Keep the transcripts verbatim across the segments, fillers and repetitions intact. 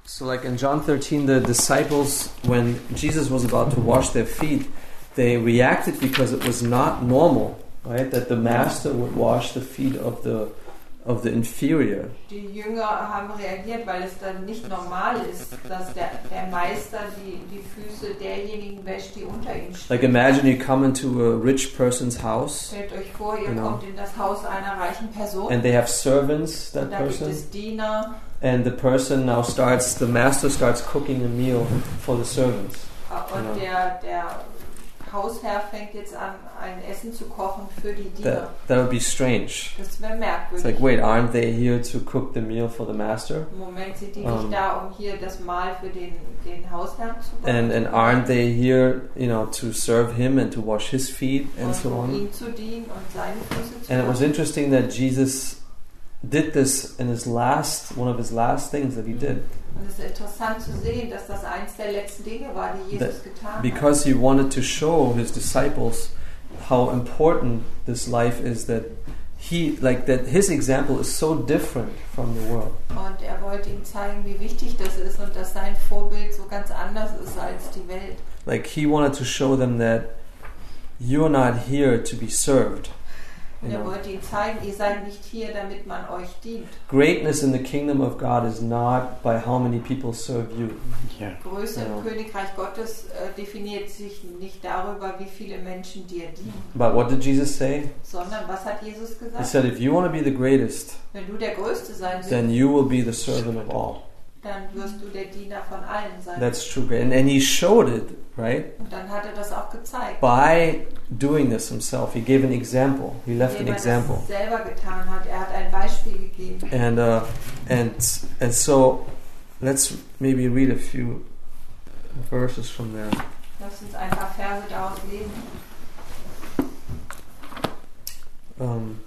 So like in John thirteen, the disciples, when Jesus was about to wash their feet, they reacted because it was not normal, right? That the master would wash the feet of the of the inferior. Die Jünger haben reagiert, weil es dann nicht normal ist, dass der, der Meister die, die Füße derjenigen wäscht, die unter ihm stehen. Like imagine you come into a rich person's house. Stellt euch vor, ihr You know. kommt in das Haus einer reichen Person. And they have servants, that Und da gibt person. es Diener. And the person now starts, the master starts cooking a meal for the servants. Und Genau. der, der Hausherr fängt jetzt an, ein Essen zu kochen für die Diener. That, that would be strange. Das wäre It's merkwürdig. like, wait, aren't they here to cook the meal for the master? Im Moment sind die Um, nicht da, um hier das Mahl für den, den Hausherrn zu kochen. And and aren't they here, you know, to serve him and to wash his feet and und so um on? ihm zu dienen und seine Füße zu And it was waschen. interesting that Jesus did this in his last, one of his last things that he did, Und es ist interessant zu sehen, dass das eins der letzten Dinge war, die Jesus getan hat. because he wanted to show his disciples how important this life is, that he, like that his example is so different from the world. Und er wollte ihnen zeigen, wie wichtig das ist und dass sein Vorbild so ganz anders ist als die Welt. Like he wanted to show them that you're not here to be served. Und You er know, wollte ihnen zeigen, ihr seid nicht hier, damit man euch dient. greatness in the kingdom of God is not by how many people serve you. Yeah. Größe Ja. im Königreich Gottes äh, definiert sich nicht darüber, wie viele Menschen dir dienen, But what did Jesus say? sondern was hat Jesus He gesagt? said, if you want to be the greatest, Wenn du der Größte sein willst, then you will be the servant of all. dann wirst du der Diener von allen sein. That's true. And, and he showed it, right? Und dann hat er das auch gezeigt. By doing this himself. He gave an example. He left an Indem er example. das selber getan hat. Er hat ein Beispiel gegeben. And uh, and and so let's maybe read a few verses from there. Lass uns ein paar Verse daraus lesen. Um,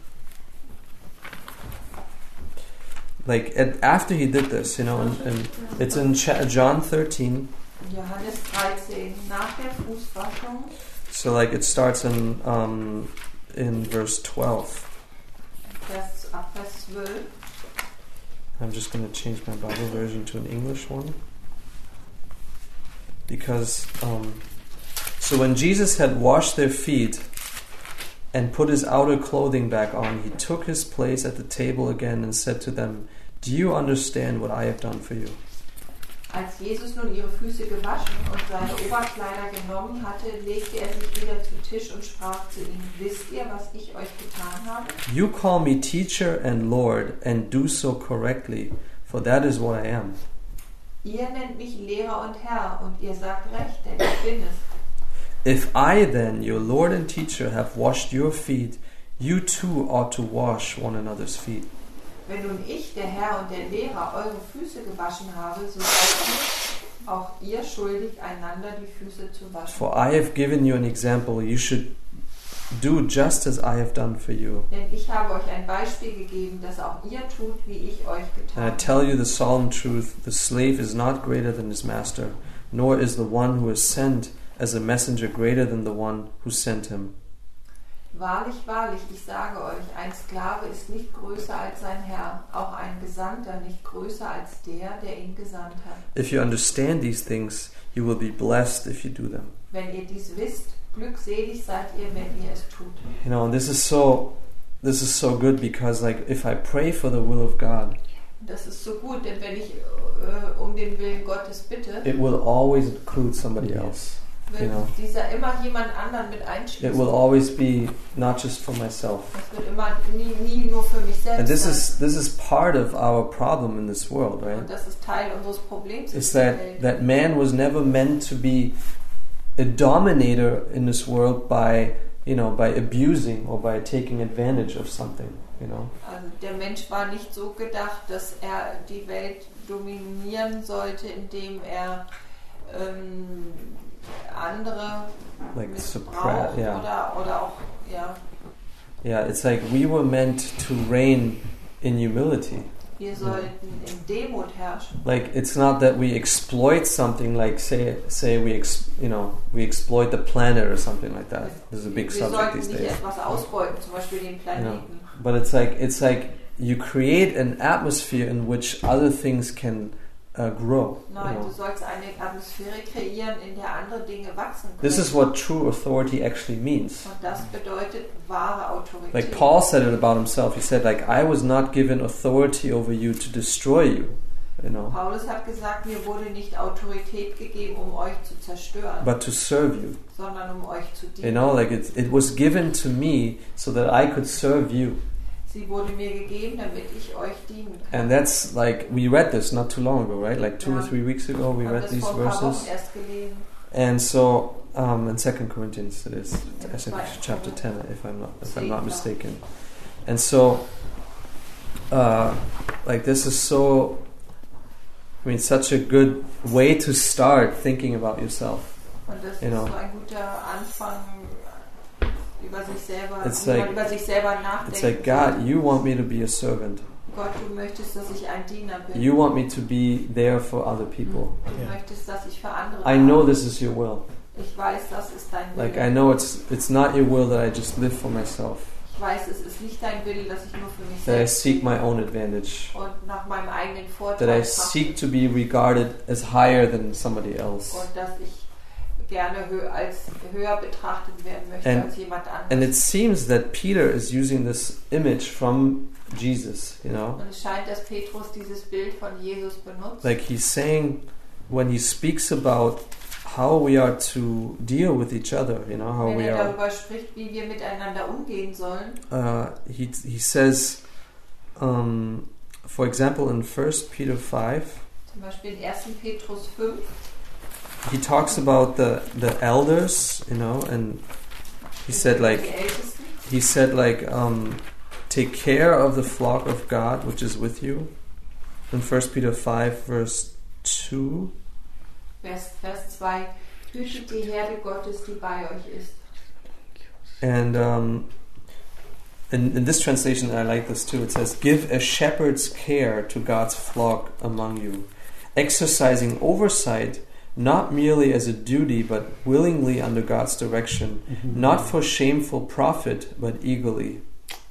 like at, after he did this, you know, and, and it's in Ch- John thirteen. Johannes dreizehn, nach der Fußwaschung, So like it starts in um, in verse twelve. Vers, ab Vers zwölf. I'm just going to change my Bible version to an English one. Because, um, so when Jesus had washed their feet and put his outer clothing back on, he took his place at the table again and said to them, "Do you understand what I have done for you?" Als Jesus nun ihre Füße gewaschen und seine Oberkleider genommen hatte, legte er sich wieder zu Tisch und sprach zu ihnen: Wisst ihr, was ich euch getan habe? You call me teacher and Lord, and do so correctly, for that is what I am. Ihr nennt mich Lehrer und Herr, und ihr sagt recht, denn ich bin es. If I then, your Lord and teacher, have washed your feet, you too ought to wash one another's feet. Wenn nun ich, der Herr und der Lehrer, eure Füße gewaschen habe, so seid auch ihr schuldig, einander die Füße zu waschen. For I have given you an example, you should do just as I have done for you. Denn ich habe euch ein Beispiel gegeben, dass auch ihr tut, wie ich euch getan And I habe. tell you the solemn truth, the slave is not greater than his master, nor is the one who is sent as a messenger greater than the one who sent him. Wahrlich, wahrlich, ich sage euch, ein Sklave ist nicht größer als sein Herr, auch ein Gesandter nicht größer als der, der ihn gesandt hat. If you understand these things, you will be blessed if you do them. Wenn ihr dies wisst, glückselig seid ihr, wenn ihr es tut. You know, and this is so this is so good because like if I pray for the will of God, Das ist so gut, denn wenn ich äh, um den Willen Gottes bitte, it will always include somebody else. wird you know. dieser immer jemand anderen mit It einschließen. will always be not just for myself. Das wird immer nie, nie nur für mich selbst And this sein. is this is part of our problem in this world, right? Und das ist Teil unseres Problems in It's dieser that Welt. that man was never meant to be a dominator in this world by, you know, by abusing or by taking advantage of something, you know. Also der Mensch war nicht so gedacht, dass er die Welt dominieren sollte, indem er ähm, andere Like missbraucht suppress, yeah. oder, oder auch, ja, Yeah, it's like we were meant to reign in humility. wir sollten in Demut herrschen. Like it's not that we exploit something, like say say we ex, you know we exploit the planet or something like that. This is a big Wir subject sollten these nicht days. etwas ausbeuten, zum Beispiel den Planeten. But it's like it's like you create an atmosphere in which other things can uh, grow. Nein, you know. du sollst eine Atmosphäre kreieren, in der andere Dinge wachsen können. This is what true authority actually means. Und das bedeutet wahre Autorität. Like Paul said it about himself. He said, like, I was not given authority over you to destroy you. You know, Paulus hat gesagt, mir wurde nicht Autorität gegeben, um euch zu zerstören, but to serve you. sondern um euch zu You dienen. know, like it, it was given to me so that I could serve you. Sie wurde mir gegeben, damit ich euch dienen kann. And that's like, we read this not too long ago, right? Like two or Ja. three weeks ago, we Ich habe read das these vor ein paar verses. Wochen erst gelesen. And so, um, in Second Corinthians, it is, I think Right. chapter ten, if I'm not, if I'm See, not no. mistaken. And so, uh, like this is so, I mean, such a good way to start thinking about yourself. Und das You ist know. so ein guter Anfang, über sich selber, It's wie man like- über sich selber It's nachdenken like, God, you want me to be a servant. Gott, du möchtest, dass ich ein Diener bin. You want me to be there for other people. Du Ja. möchtest, dass ich für andere I know bin. this is your will. Ich weiß, das ist dein Wille. Like, I know it's it's not your will that I just live for myself, Ich weiß, es ist nicht dein Wille, dass ich nur für mich that I selbst seek my own advantage, und nach meinem eigenen that Vorteil I trachte seek to be regarded as higher than somebody else. und dass ich gerne hö als höher betrachtet werden möchte And- als jemand anderes. And it seems that Peter is using this image from Jesus, you know? Und es scheint, dass Petrus dieses Bild von Jesus benutzt. Like he's saying, when he speaks about how we are to deal with each other, you know, how Wenn we er are, darüber spricht, wie wir miteinander umgehen sollen, uh, he, he says, um, for example, in First Peter five, zum Beispiel in ersten Petrus fünf, he talks about the, the elders, you know, and he said die like, Ältesten, he said like, um, take care of the flock of God which is with you. In First Peter five verse two. Vers, Vers zwei, hütet die Herde Gottes, die bei euch ist. And um, in, in this translation, I like this too. It says, give a shepherd's care to God's flock among you, exercising oversight, not merely as a duty, but willingly under God's direction, not for shameful profit, but eagerly.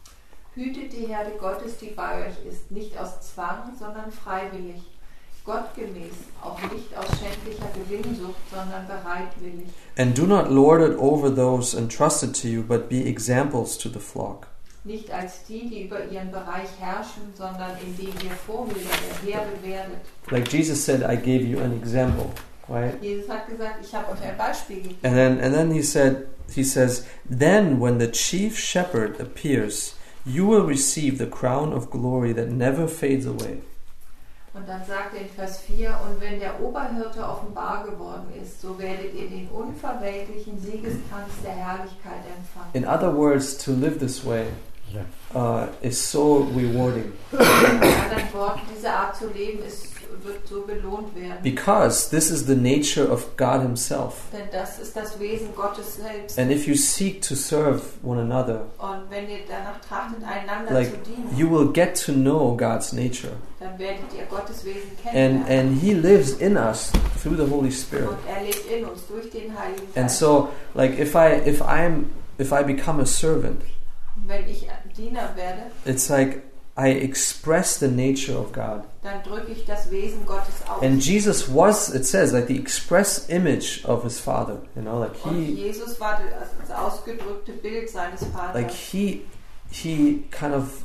Hütet die Herde Gottes, die bei euch ist, nicht aus Zwang, sondern freiwillig. Gottgemäß, auch nicht aus schändlicher Gewinnsucht, sondern bereitwillig. And do not lord it over those entrusted to you, but be examples to the flock. Nicht als die, die über ihren Bereich herrschen, sondern indem ihr Vorbilder der Herde werdet. Like Jesus said, I gave you an example, right? Jesus hat gesagt, ich habe euch ein Beispiel gegeben. And then and then he said he says, then when the chief shepherd appears, you will receive the crown of glory that never fades away. Und dann sagt er in Vers vier, und wenn der Oberhirte offenbar geworden ist, so werdet ihr den unverwelklichen Siegeskranz der Herrlichkeit empfangen. In other words, to live this way Ja. uh, is so rewarding In anderen Worten, diese Art zu leben ist, wird so belohnt werden. because this is the nature of God Himself. Denn das ist das Wesen Gottes selbst. And if you seek to serve one another, Und wenn ihr danach trachtet, einander like zu dienen, you will get to know God's nature, dann werdet ihr Gottes Wesen and kennenlernen. and He lives in us through the Holy Spirit. Und er lebt in uns durch den Heiligen And Geist. so, like if I if I'm if I become a servant, Und wenn ich ein Diener werde, it's like I express the nature of God. dann drücke ich das Wesen Gottes aus. And Jesus was, it says, like the express image of His Father. You know, like Und He, Jesus war das ausgedrückte Bild seines Vaters. like He, He kind of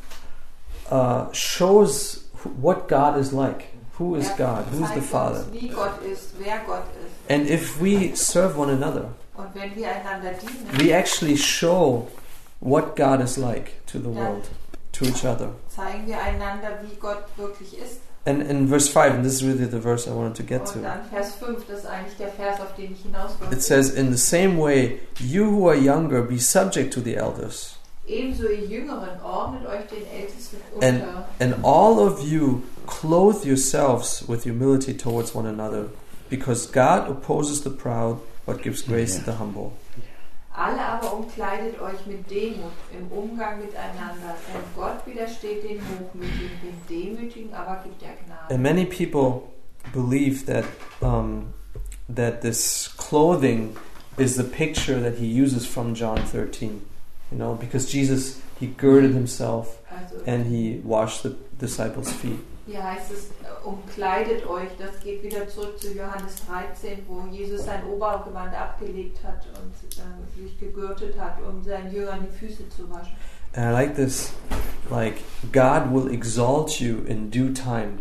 uh, shows wh- what God is like. Who is Er God? Who's the zeigt Father? uns, wie Gott ist, wer Gott ist. And if we serve one another, Und wenn wir einander dienen, we actually show what God is like to the world, to each other. zeigen wir einander, wie Gott wirklich ist. And in verse five, and this is really the verse I wanted to get Und to. dann Vers fünf, das ist eigentlich der Vers, auf den ich hinaus wollte. It says, in the same way, you who are younger, be subject to the elders. Ebenso ihr Jüngeren, ordnet euch den Ältesten And, unter. and all of you clothe yourselves with humility towards one another, because God opposes the proud, but gives grace to the humble. Alle aber umkleidet euch mit Demut im Umgang miteinander, denn Gott widersteht den Hochmütigen, den Demütigen aber gibt er Gnade. And many people believe that um, that this clothing is the picture that he uses from John thirteen. You know, because Jesus, he girded himself Also and he washed the disciples' feet. Hier heißt es, äh, umkleidet euch. Das geht wieder zurück zu Johannes dreizehn, wo Jesus sein Obergewand abgelegt hat und äh, sich gegürtet hat, um seinen Jüngern die Füße zu waschen. And I like this, like, God will exalt you in due time.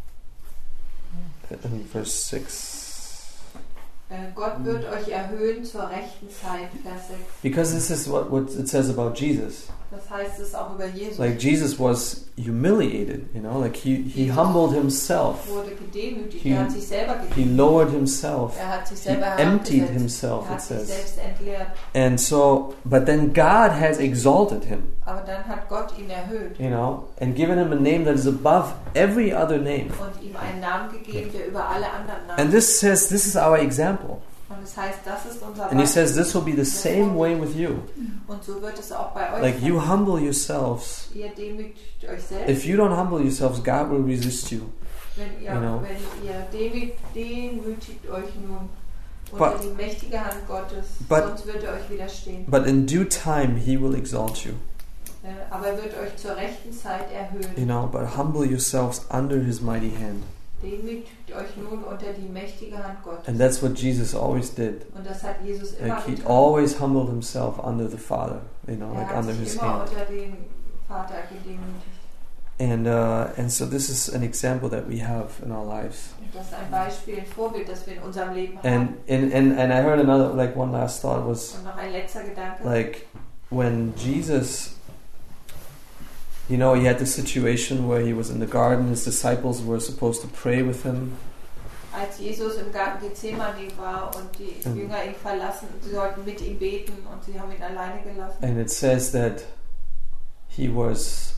In verse six. Äh, Gott wird euch erhöhen zur rechten Zeit, Vers sechs. Because this is what, what it says about Jesus. Das heißt es auch über Jesus. Like, Jesus was humiliated, you know, like he, he Jesus humbled himself. wurde gedemütigt. He- Er hat sich selber He gedemütigt. lowered himself. Er hat sich He selber emptied herabgesetzt. himself, Er it hat sich says. selbst entleert. And so, but then God has exalted him, Aber dann hat Gott ihn erhöht you know, and given him a name that is above every other name. und ihm einen Namen gegeben, der über alle anderen Namen And this says, this is our example. Und das heißt, das ist unser And he Beispiel. says this will be the same way with you. Und so wird es auch bei euch Like, sein. you humble yourselves. Ihr demütigt euch selbst. If you don't humble yourselves, God will resist you. wenn ihr, you know. wenn ihr demütigt, demütigt euch nun But- unter die mächtige Hand Gottes, but- sonst wird er euch widerstehen. But in due time, he will exalt you. Äh, Aber er wird euch zur rechten Zeit erhöhen. You know, but humble yourselves under his mighty hand. Demütigt euch nun unter die mächtige Hand Gottes. And that's what Jesus always did. Und das hat Jesus immer Like, he getan. always humbled himself under the Father, you know, Er like hat under sich his immer hand. unter den Vater gedemütigt. And uh, and so this is an example that we have in our lives. Und das ist ein Beispiel, ein Vorbild, das wir in unserem Leben And haben. and, and, and I heard another, like one last thought was, Und noch ein letzter Gedanke. like, when Jesus, you know, he had this situation where he was in the garden, his disciples were supposed to pray with him. Als Jesus im Garten Gethsemane war und die Mhm. Jünger ihn verlassen, sie sollten mit ihm beten und sie haben ihn alleine gelassen. And it says that he was,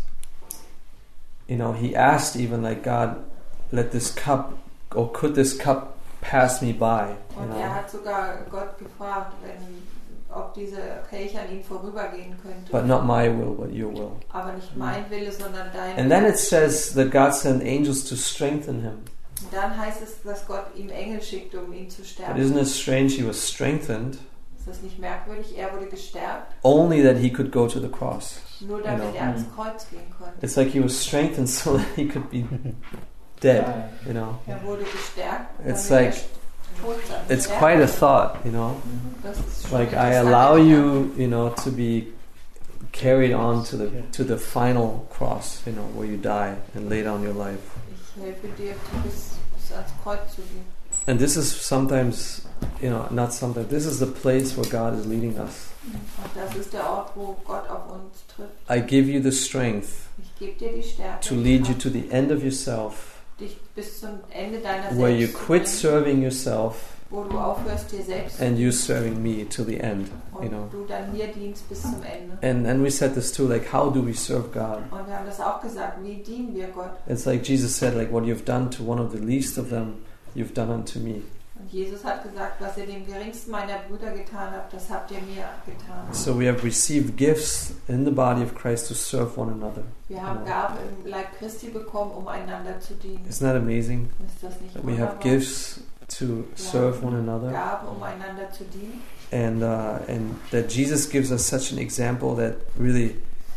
you know, he asked even, like, God, let this cup, or could this cup pass me by? You Und know? er hat sogar Gott gefragt, wenn, ob diese Kelch an ihm vorübergehen könnte. But not my will, but your will. Aber nicht mein Wille, sondern dein And then Wille. it says that God sent angels to strengthen him. Und dann heißt es, dass Gott ihm Engel schickte, um ihn zu But stärken. isn't it strange? He was strengthened Ist das nicht merkwürdig? Er wurde gestärkt, only that he could go to the cross. nur damit You know. er ans Kreuz gehen konnte. It's like he was strengthened so that he could be dead, you know. Er wurde gestärkt, It's damit like- er tot sein It's sterben quite a konnte. thought, you know. Das ist schon Like, I interessant. allow you, you know, to be carried on to the to the final cross, you know, where you die and lay down your life. Ich helfe dir, bis, bis ans Kreuz zu gehen. And this is sometimes, you know, not sometimes. This is the place where God is leading us. Und das ist der Ort, wo Gott auf uns trifft. I give you the strength Ich gebe dir die Stärke, to lead you to the end of yourself, dich bis zum Ende deiner where you selbst zu quit bringen, serving yourself wo du aufhörst, dir selbst and you serving me till the end, you und know. du dann mir dienst bis zum Ende. And and we said this too, like, how do we serve God? Und wir haben das auch gesagt, wie dienen wir Gott? It's like Jesus said, like, what you've done to one of the least of them, you've done unto me. Und Jesus hat gesagt, was ihr dem geringsten meiner Brüder getan habt, das habt ihr mir getan. So we have received gifts in the body of Christ to serve one another. Wir haben Gaben im Leib Christi bekommen, um einander zu dienen. Isn't that amazing? Ist das nicht That we have wunderbar? gifts to serve one another, Gaben, um einander zu dienen. and uh, and that Jesus gives us such an example that really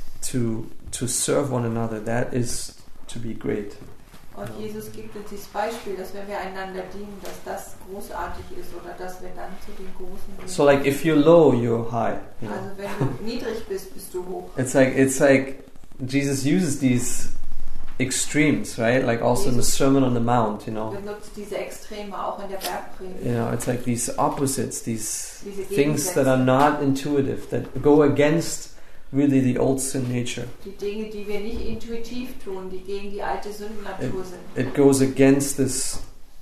to to serve one another, that is to be great. Und Jesus gibt uns dieses Beispiel, dass wenn wir einander dienen, dass das großartig ist oder dass wir dann zu den Großen gehen. So like if you're low, you're high. You know? Also wenn du niedrig bist, bist du hoch. It's like it's like Jesus uses these extremes, right? Like also in the Jesus Sermon on the Mount, you know. benutzt diese Extreme auch in der Bergpredigt. You know, it's like these opposites, these Diese things that are not intuitive, that go against really the old sin nature. Die Dinge, die wir nicht intuitiv tun, die gegen die alte Sündennatur sind. It goes against this,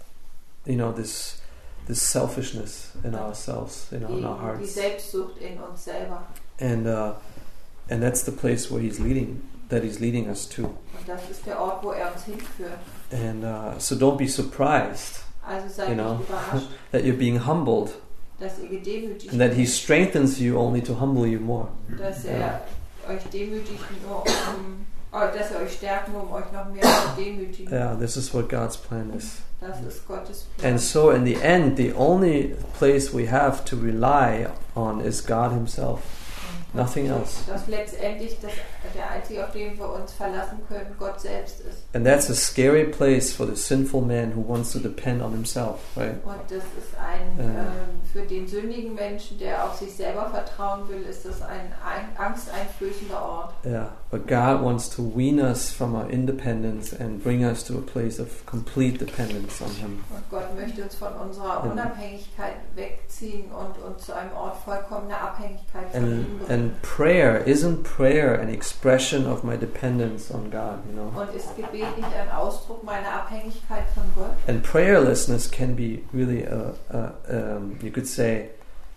you know, this this selfishness in ourselves, you know, in our Gegen die hearts, Selbstsucht in uns selber. and uh, and that's the place where He's leading, that He's leading us to. Und das ist der Ort, wo er uns hinführt. And uh, so don't be surprised Also seid You nicht know. überrascht, that you're being humbled, dass ihr gedemütigt and that He werdet, strengthens you only to humble you more. dass er Ja. euch demütigt, nur um, oh, dass er euch stärkt, nur um euch noch mehr zu demütigen. Yeah, this is what God's plan is. Das ist Gottes Plan. And so in the end, the only place we have to rely on is God Himself. Nothing else. Dass letztendlich das, der Einzige, auf den wir uns verlassen können, Gott selbst ist. And that's a scary place for the sinful man who wants to depend on himself, right? Und das ist ein, Ja. ähm, für den sündigen Menschen, der auf sich selber vertrauen will, ist das ein, ein angsteinflößender Ort. Yeah, but God wants to wean us from our independence and bring us to a place of complete dependence on Him. Und Gott möchte uns von unserer Ja. Unabhängigkeit wegziehen und uns zu einem Ort vollkommener Abhängigkeit von And ihm bringen. and prayer, isn't prayer an expression of my dependence on God, you know? Und ist Gebet nicht ein Ausdruck meiner Abhängigkeit von Gott? And prayerlessness can be really a, a um, you could say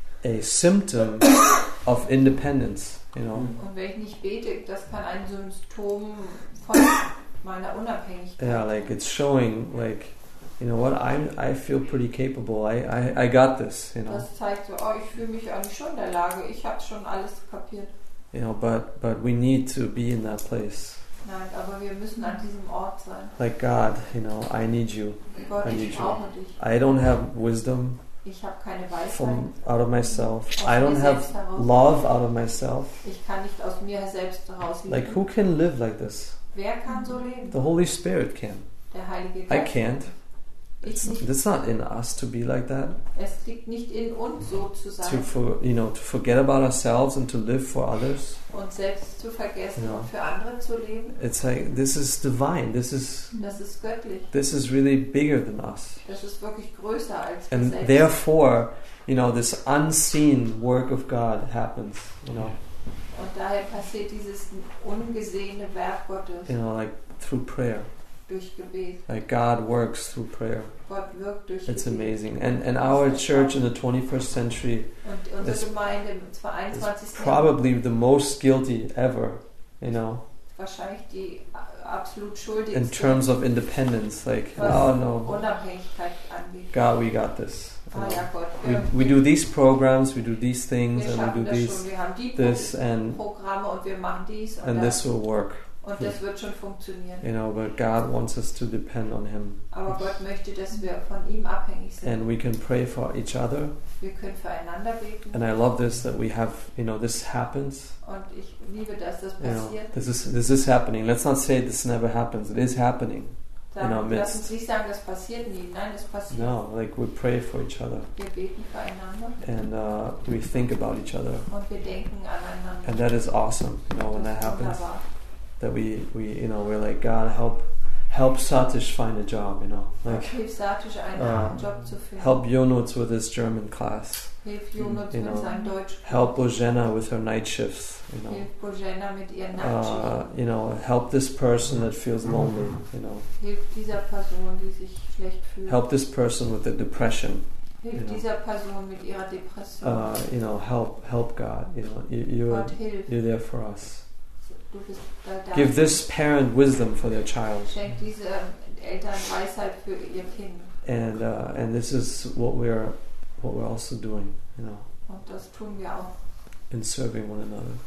a symptom of independence, you know? Und wenn ich nicht bete, das kann ein Symptom von meiner Unabhängigkeit. Yeah, like it's showing like, you know what, I'm I feel pretty capable. I, I, I got this, you know. Das zeigt so, oh, ich fühle mich eigentlich schon in der Lage, ich habe schon alles kapiert. You know, but but we need to be in that place. Nein, aber wir müssen an diesem Ort sein. Like God, you know, I need you. Gott, I ich need you. brauche dich. I don't have wisdom Ich habe keine Weisheit. from out of myself. Aus I mir don't have selbst heraus. love out of myself. Ich kann nicht aus mir selbst heraus leben. Like who can live like this? Wer kann so leben? The Holy Spirit can. Der Heilige I Geist. can't. Ich It's, nicht. it's not in us to be like that. Es liegt nicht in uns, so zu To sein for you know to forget about ourselves and to live for others. und selbst zu vergessen Ja. und für andere zu leben. It's like this is divine. This is Das ist göttlich. this is really bigger than us. Das ist wirklich größer als wir And selbst. therefore, you know, this unseen work of God happens. You know, Und daher passiert dieses ungesehene Werk Gottes you know, like through prayer. durch Gebet. Like God works through prayer. Gott wirkt durch It's Gebet. amazing. And and our church in the twenty-first century Und unsere It's- Gemeinde im is einundzwanzigsten Jahrhundert probably the most guilty ever. You know, wahrscheinlich die a- absolut in schuldigste, terms of independence. Like, was oh no, Unabhängigkeit angeht. God, we got this. You Ah know. ja, Gott, We wir, we do these programs, we do these things, wir and schaffen we do das these, schon. Wir haben die this, Pro and Programme und wir machen dies und and das. this will work. Und das wird schon funktionieren. You know, but God wants us to depend on Him, Aber Gott möchte, dass wir von ihm abhängig sind. and we can pray for each other. Wir können füreinander beten. And I love this that we have, you know, this happens. Und ich liebe, dass das You know, passiert. this is this is happening. Let's not say this never happens. It is happening. in our Sagen, midst. lass uns nicht sagen, das passiert nie. Nein, das passiert. No, like we pray for each other, Wir beten füreinander and uh, we think about each other, und wir denken aneinander. and that is awesome. You know, when Das that ist happens, wunderbar. that we we you know we're like, God, help help Satish find a job. You know, like Hilf Satish, einen uh, Job zu finden. help Jonuts with his German class. Hilf Jonas you mit know, seinem Deutsch. Help Bojena with her night shifts. You know. Hilf Bojena mit ihren Uh, Nachtschichten. you know, help this person that feels lonely. You know, Hilf dieser Person, die sich schlecht fühlt. help this person with the depression. Hilf you know. dieser Person mit ihrer Depression. Uh, you know, help, help God. You know, you, you're Gott hilf. you're there for us. Du bist da. da. Give this parent wisdom for their child, Schenk diese Eltern Weisheit für ihr Kind. and uh, and this is what we're what we're also doing. You know, Und das tun wir auch, in serving one another.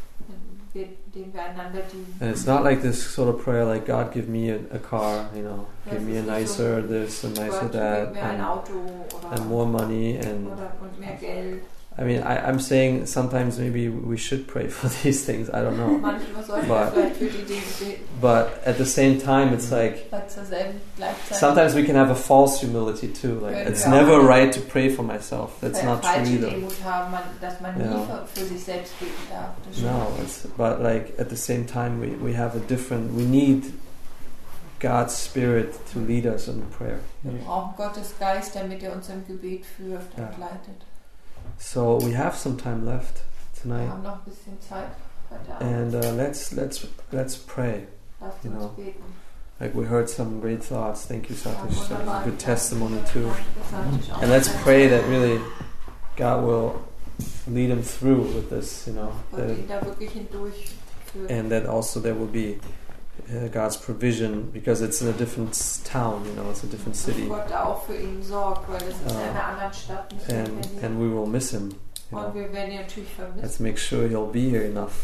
indem wir einander dienen. And it's not like this sort of prayer, like God, give me a, a car. You know, give me a nicer this and nicer Gott, that, gib mir ein and, Auto oder, and more money and. oder und mehr Geld. I mean, I, I'm saying sometimes maybe we should pray for these things. I don't know. Manchmal sollten But- wir vielleicht für die Dinge beten, But at the same time, it's like weil zur selben Gleichzeit sometimes we can have a false humility too. Like Können it's wir auch never eine- right to pray for myself. That's eine not true falsche either. Demut haben, man, dass man Ja. nie für, für sich selbst beten darf. Das stimmt No, nicht. it's but like at the same time we, we have a different. We need God's Spirit to lead us in prayer. Wir brauchen Gottes Geist, damit er uns im Gebet führt Ja. und leitet. So we have some time left Wir tonight, haben noch ein bisschen Zeit heute and Abend. uh, let's let's let's pray. Lasst you uns know, beten. Like we heard some great thoughts. Thank you, Ja, Satish. That was wunderbar. a good testimony Danke, too. Satish, auch. And let's pray that really God will lead him through with this, you know, Und that, ihn da wirklich hindurch führt. and that also there will be uh, God's provision because it's in a different s- town, you know, it's a different Dass city, Gott da auch für ihn sorgt, weil es ist in Ah. einer anderen Stadt, nicht in and Berlin. and we will miss him. You Und know. wir werden ihn natürlich vermissen. Let's make sure he'll be here enough,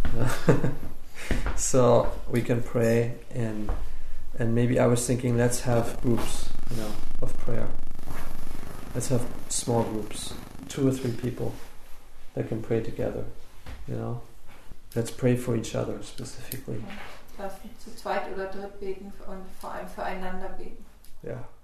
so we can pray and and maybe I was thinking let's have groups, you know, of prayer. Let's have small groups, two or three people that can pray together, you know. Let's pray for each other specifically. Lass uns zu zweit oder dritt beten und vor allem füreinander beten. Yeah.